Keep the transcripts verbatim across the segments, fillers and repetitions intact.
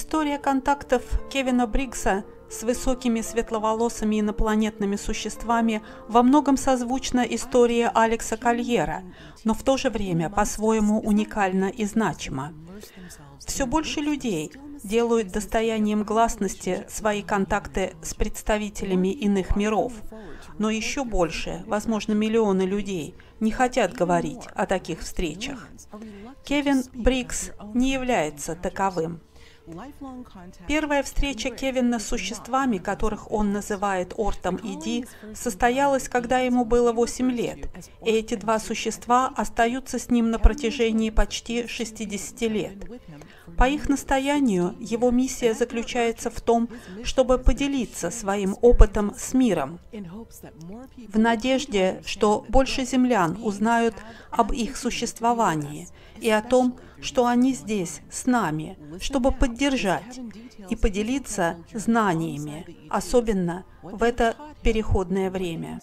История контактов Кевина Бриггса с высокими светловолосыми инопланетными существами во многом созвучна истории Алекса Кольера, но в то же время по-своему уникальна и значима. Все больше людей делают достоянием гласности свои контакты с представителями иных миров, но еще больше, возможно, миллионы людей, не хотят говорить о таких встречах. Кевин Бриггс не является таковым. Первая встреча Кевина с существами, которых он называет Ортом и Ди, состоялась, когда ему было восемь лет, и эти два существа остаются с ним на протяжении почти шестидесяти лет. По их настоянию, его миссия заключается в том, чтобы поделиться своим опытом с миром, в надежде, что больше землян узнают об их существовании и о том, что они здесь, с нами, чтобы поддержать и поделиться знаниями, особенно в это переходное время.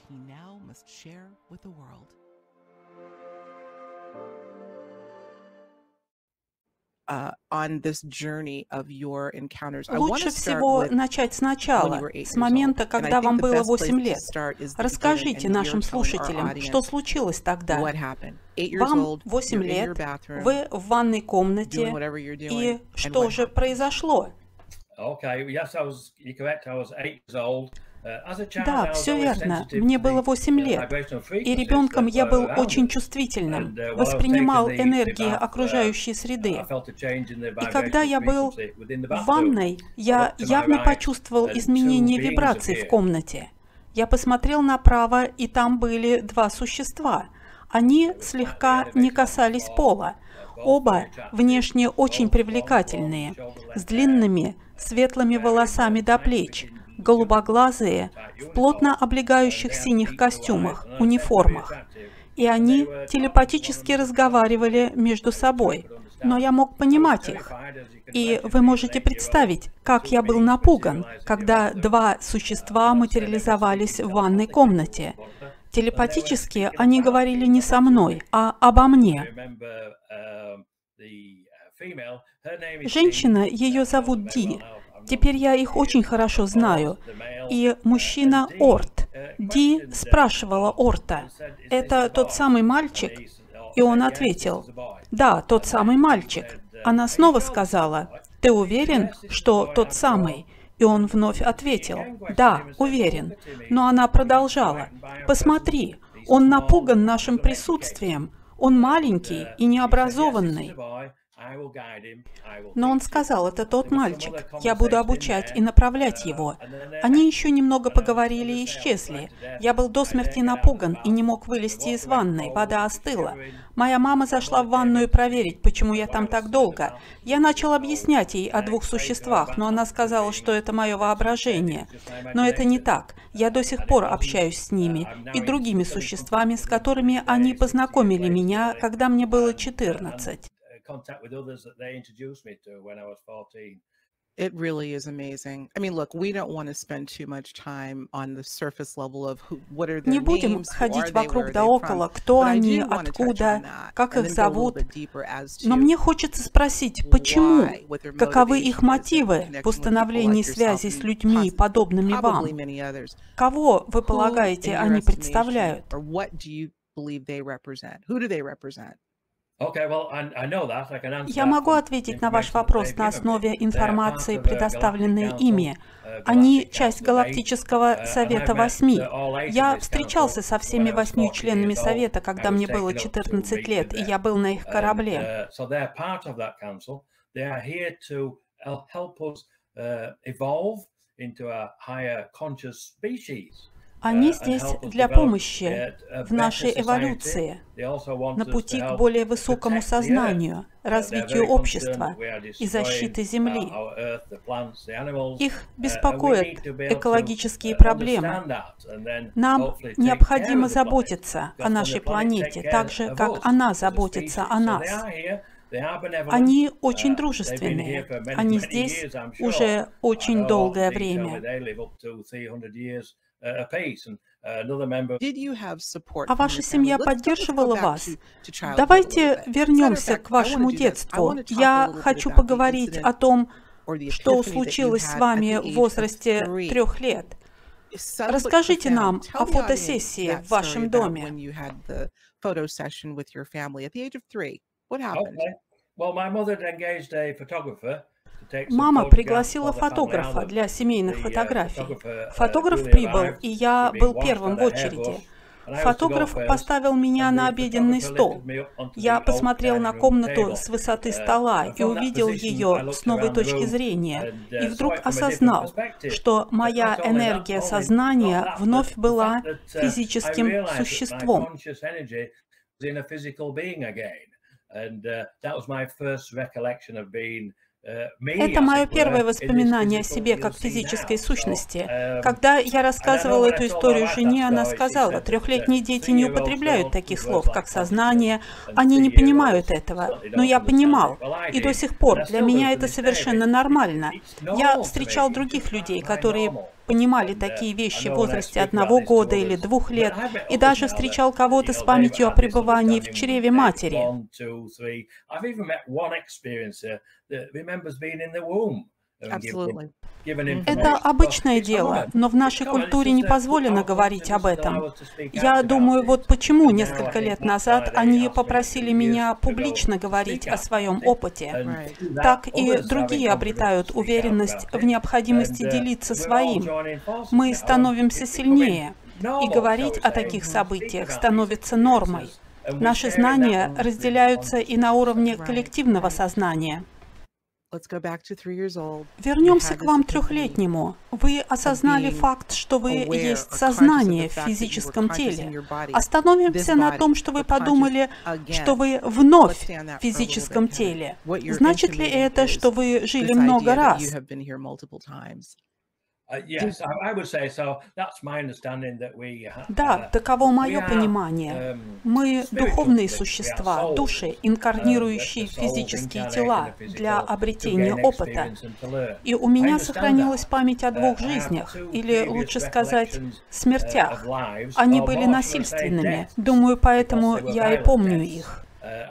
Лучше всего начать сначала, с момента, когда вам было восемь лет. Расскажите нашим слушателям, что случилось тогда. Вам восемь лет, вы в ванной комнате, и что же произошло? Да, все верно. Мне было восемь лет, и ребенком я был очень чувствительным, воспринимал энергии окружающей среды. И когда я был в ванной, я явно почувствовал изменение вибраций в комнате. Я посмотрел направо, и там были два существа. Они слегка не касались пола. Оба внешне очень привлекательные, с длинными светлыми волосами до плеч, голубоглазые, в плотно облегающих синих костюмах, униформах. И они телепатически разговаривали между собой, но я мог понимать их. И вы можете представить, как я был напуган, когда два существа материализовались в ванной комнате. Телепатически они говорили не со мной, а обо мне. Женщина, ее зовут Ди. Теперь я их очень хорошо знаю. И мужчина Орт. Ди спрашивала Орта: «Это тот самый мальчик?» И он ответил: «Да, тот самый мальчик». Она снова сказала: «Ты уверен, что тот самый?» И он вновь ответил: «Да, уверен». Но она продолжала: «Посмотри, он напуган нашим присутствием. Он маленький и необразованный». Но он сказал: «Это тот мальчик. Я буду обучать и направлять его». Они еще немного поговорили и исчезли. Я был до смерти напуган и не мог вылезти из ванной. Вода остыла. Моя мама зашла в ванную проверить, почему я там так долго. Я начал объяснять ей о двух существах, но она сказала, что это мое воображение. Но это не так. Я до сих пор общаюсь с ними и другими существами, с которыми они познакомили меня, когда мне было четырнадцать. Contact with others that they introduced me to when I was fourteen. It really is amazing. I mean, look, we don't want to spend too much time on the surface level of who, what are their names, Не будем ходить вокруг да около, кто они, откуда, как их зовут. Но мне хочется спросить, почему, каковы их мотивы в установлении связи с людьми, подобными вам? Кого, вы полагаете, они представляют? Я могу ответить на ваш вопрос на основе информации, предоставленной ими. Они часть Галактического Совета Восьми. Я встречался со всеми восьмью членами Совета, когда мне было четырнадцать лет, и я был на их корабле. Они здесь для помощи в нашей эволюции, на пути к более высокому сознанию, развитию общества и защиты Земли. Их беспокоят экологические проблемы. Нам необходимо заботиться о нашей планете, так же, как она заботится о нас. Они очень дружественные. Они здесь уже очень долгое время. А ваша семья поддерживала вас? Давайте вернемся к вашему детству. Я хочу поговорить о том, что случилось с вами в возрасте трех лет. Расскажите нам о фотосессии в вашем доме. Мама пригласила фотографа для семейных фотографий. Фотограф прибыл, и я был первым в очереди. Фотограф поставил меня на обеденный стол. Я посмотрел на комнату с высоты стола и увидел ее с новой точки зрения. И вдруг осознал, что моя энергия сознания вновь была физическим существом. Это мое первое воспоминание о себе как физической сущности. Когда я рассказывала эту историю жене, она сказала: трехлетние дети не употребляют таких слов, как сознание, они не понимают этого. Но я понимал, и до сих пор для меня это совершенно нормально. Я встречал других людей, которые понимали такие вещи в возрасте одного года или двух лет, и даже встречал кого-то с памятью о пребывании в чреве матери. Это обычное дело, но в нашей культуре не позволено говорить об этом. Я думаю, вот почему несколько лет назад они попросили меня публично говорить о своем опыте. Так и другие обретают уверенность в необходимости делиться своим. Мы становимся сильнее, и говорить о таких событиях становится нормой. Наши знания разделяются и на уровне коллективного сознания. Вернемся к вам трехлетнему. Вы осознали факт, что вы есть сознание в физическом теле. Остановимся на том, что вы подумали, что вы вновь в физическом теле. Значит ли это, что вы жили много раз? Да, таково мое понимание. Мы духовные существа, души, инкарнирующие в физические тела для обретения опыта. И у меня сохранилась память о двух жизнях, или лучше сказать, смертях. Они были насильственными. Думаю, поэтому я и помню их.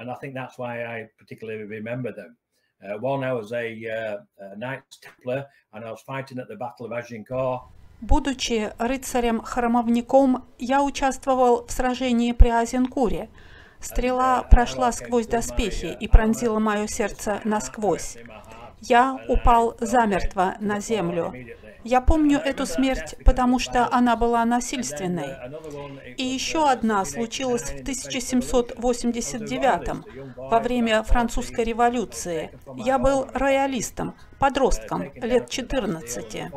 Uh, one, I was a, uh, a Knights Templar, and I was fighting at the Battle of Agincourt. Будучи рыцарем-храмовником, я участвовал в сражении при Азенкуре. Стрела прошла сквозь доспехи и пронзила мое сердце насквозь. Я упал замертво на землю. Я помню эту смерть, потому что она была насильственной. И еще одна случилась в тысяча семьсот восемьдесят девятом, во время французской революции. Я был роялистом, подростком, лет четырнадцати.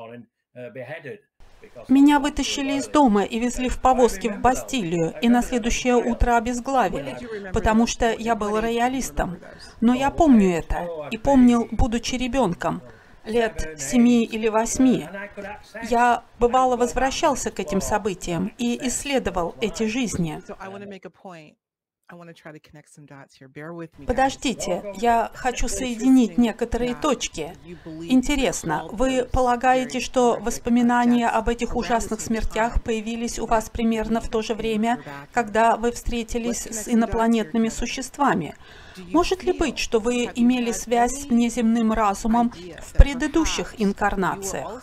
Меня вытащили из дома и везли в повозке в Бастилию, и на следующее утро обезглавили, потому что я был роялистом. Но я помню это, и помнил, будучи ребенком, лет семи или восьми. Я, бывало, возвращался к этим событиям и исследовал эти жизни. Подождите, я хочу соединить некоторые точки. Интересно, вы полагаете, что воспоминания об этих ужасных смертях появились у вас примерно в то же время, когда вы встретились с инопланетными существами? Может ли быть, что вы имели связь с внеземным разумом в предыдущих инкарнациях?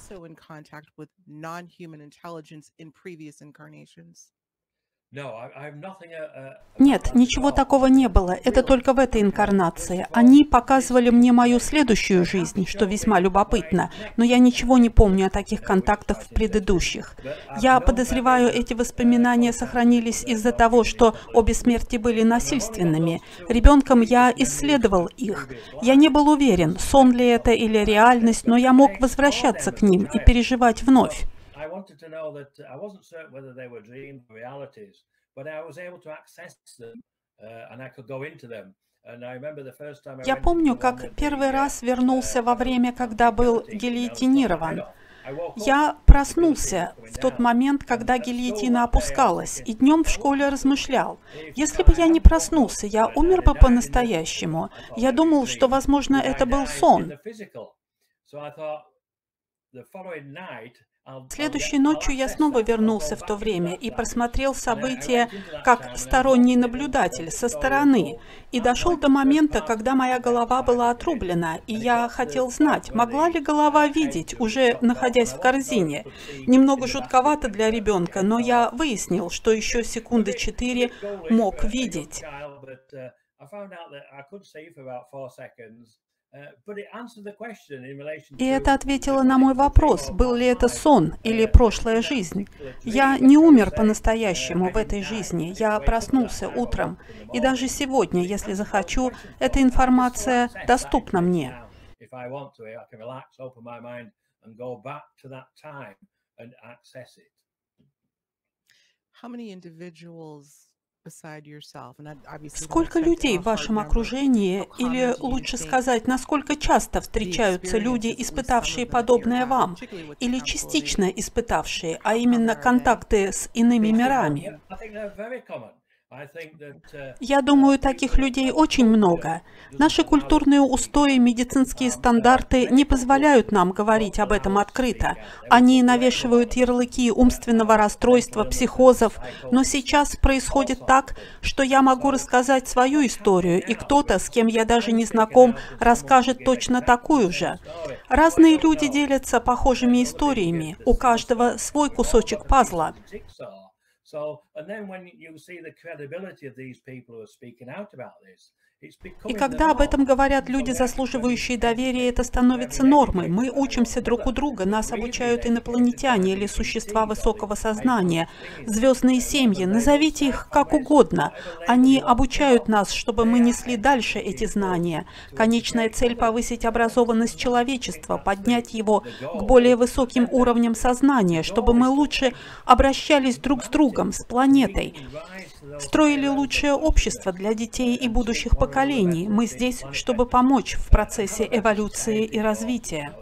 Нет, ничего такого не было. Это только в этой инкарнации. Они показывали мне мою следующую жизнь, что весьма любопытно, но я ничего не помню о таких контактах в предыдущих. Я подозреваю, эти воспоминания сохранились из-за того, что обе смерти были насильственными. Ребенком я исследовал их. Я не был уверен, сон ли это или реальность, но я мог возвращаться к ним и переживать вновь. Я помню, как первый раз вернулся во время, когда был гильотинирован. Я проснулся в тот момент, когда гильотина опускалась, и днем в школе размышлял. Если бы я не проснулся, я умер бы по-настоящему. Я думал, что, возможно, это был сон. Следующей ночью я снова вернулся в то время и просмотрел события как сторонний наблюдатель со стороны, и дошел до момента, когда моя голова была отрублена, и я хотел знать, могла ли голова видеть, уже находясь в корзине. Немного жутковато для ребенка, но я выяснил, что еще секунды четыре мог видеть. И это ответило на мой вопрос, был ли это сон или прошлая жизнь. Я не умер по-настоящему в этой жизни, я проснулся утром. И даже сегодня, если захочу, эта информация доступна мне. Сколько людей в вашем окружении, или лучше сказать, насколько часто встречаются люди, испытавшие подобное вам, или частично испытавшие, а именно контакты с иными мирами? Я думаю, таких людей очень много. Наши культурные устои, медицинские стандарты не позволяют нам говорить об этом открыто. Они навешивают ярлыки умственного расстройства, психозов, но сейчас происходит так, что я могу рассказать свою историю, и кто-то, с кем я даже не знаком, расскажет точно такую же. Разные люди делятся похожими историями, у каждого свой кусочек пазла. И когда об этом говорят люди, заслуживающие доверия, это становится нормой. Мы учимся друг у друга, нас обучают инопланетяне или существа высокого сознания, звездные семьи, назовите их как угодно. Они обучают нас, чтобы мы несли дальше эти знания. Конечная цель — повысить образованность человечества, поднять его к более высоким уровням сознания, чтобы мы лучше обращались друг с другом, с планетой, строили лучшее общество для детей и будущих поколений. Мы здесь, чтобы помочь в процессе эволюции и развития.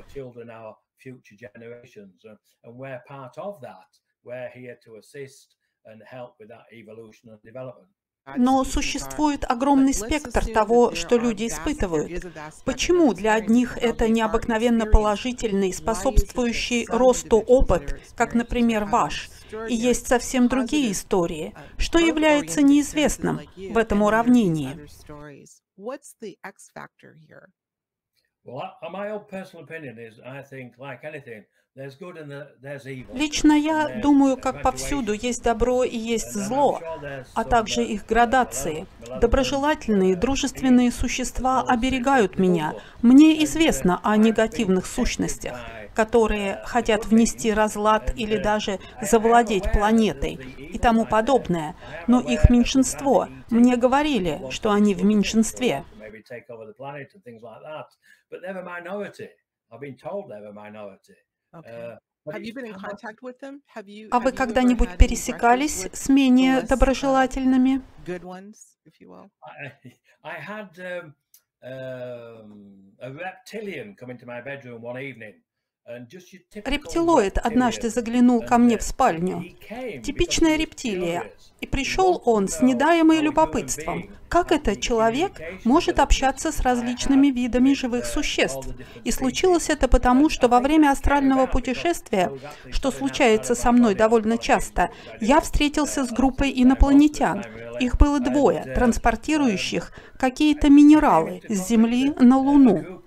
Но существует огромный спектр того, что люди испытывают. Почему для одних это необыкновенно положительный, способствующий росту опыт, как, например, ваш, и есть совсем другие истории, что является неизвестным в этом уравнении? Лично я думаю, как повсюду есть добро и есть зло, а также их градации. Доброжелательные, дружественные существа оберегают меня. Мне известно о негативных сущностях, которые хотят внести разлад или даже завладеть планетой и тому подобное. Но их меньшинство. Мне говорили, что они в меньшинстве. А вы когда-нибудь пересекались с менее доброжелательными? Рептилоид однажды заглянул ко мне в спальню. Типичная рептилия. И пришел он с недаемым любопытством. Как это человек может общаться с различными видами живых существ? И случилось это потому, что во время астрального путешествия, что случается со мной довольно часто, я встретился с группой инопланетян. Их было двое, транспортирующих какие-то минералы с Земли на Луну.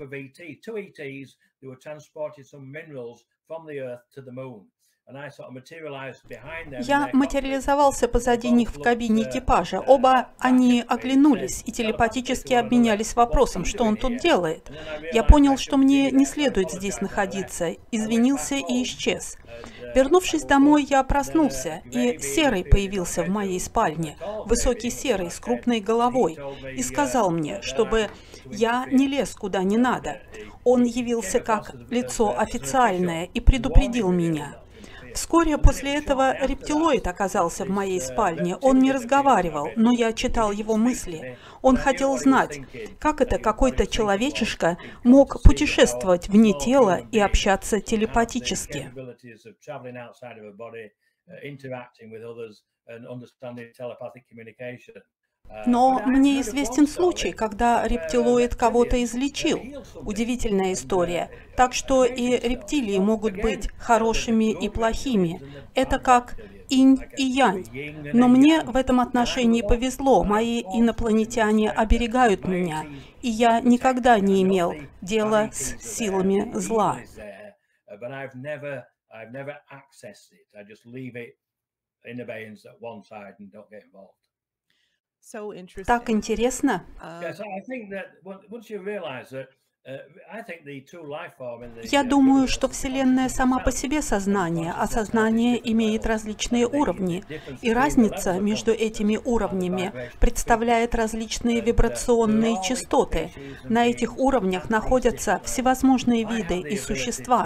Я материализовался позади них в кабине экипажа. Оба они оглянулись и телепатически обменялись вопросом, что он тут делает. Я понял, что мне не следует здесь находиться, извинился и исчез. Вернувшись домой, я проснулся, и Серый появился в моей спальне, высокий Серый с крупной головой, и сказал мне, чтобы я не лез куда не надо. Он явился как лицо официальное и предупредил меня. Вскоре после этого рептилоид оказался в моей спальне. Он не разговаривал, но я читал его мысли. Он хотел знать, как это какой-то человечишка мог путешествовать вне тела и общаться телепатически. Но мне известен случай, когда рептилоид кого-то излечил. Удивительная история. Так что и рептилии могут быть хорошими и плохими. Это как инь и янь. Но мне в этом отношении повезло. Мои инопланетяне оберегают меня, и я никогда не имел дела с силами зла. Так интересно. Я думаю, что Вселенная сама по себе сознание, а сознание имеет различные уровни, и разница между этими уровнями представляет различные вибрационные частоты. На этих уровнях находятся всевозможные виды и существа.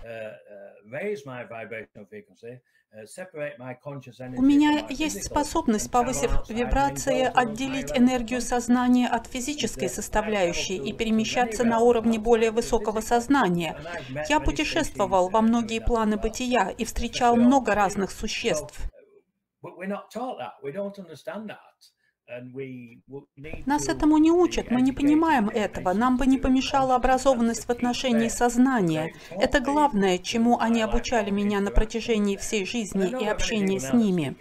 У меня есть способность, повысив вибрации, отделить энергию сознания от физической составляющей и перемещаться на уровне более высокого сознания. Я путешествовал во многие планы бытия и встречал много разных существ. Нас этому не учат, мы не понимаем этого. Нам бы не помешала образованность в отношении сознания. Это главное, чему они обучали меня на протяжении всей жизни и общения с ними.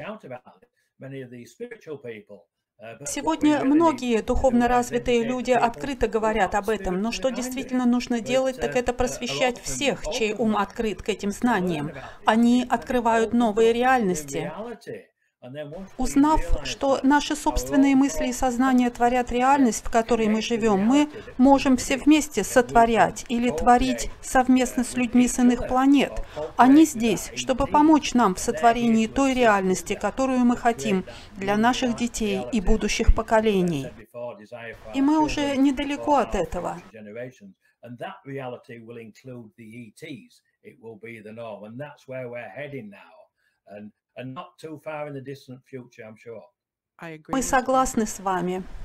Сегодня многие духовно развитые люди открыто говорят об этом, но что действительно нужно делать, так это просвещать всех, чей ум открыт к этим знаниям. Они открывают новые реальности. Узнав, что наши собственные мысли и сознание творят реальность, в которой мы живем, мы можем все вместе сотворять или творить совместно с людьми с иных планет. Они здесь, чтобы помочь нам в сотворении той реальности, которую мы хотим для наших детей и будущих поколений. И мы уже недалеко от этого. Мы согласны с вами.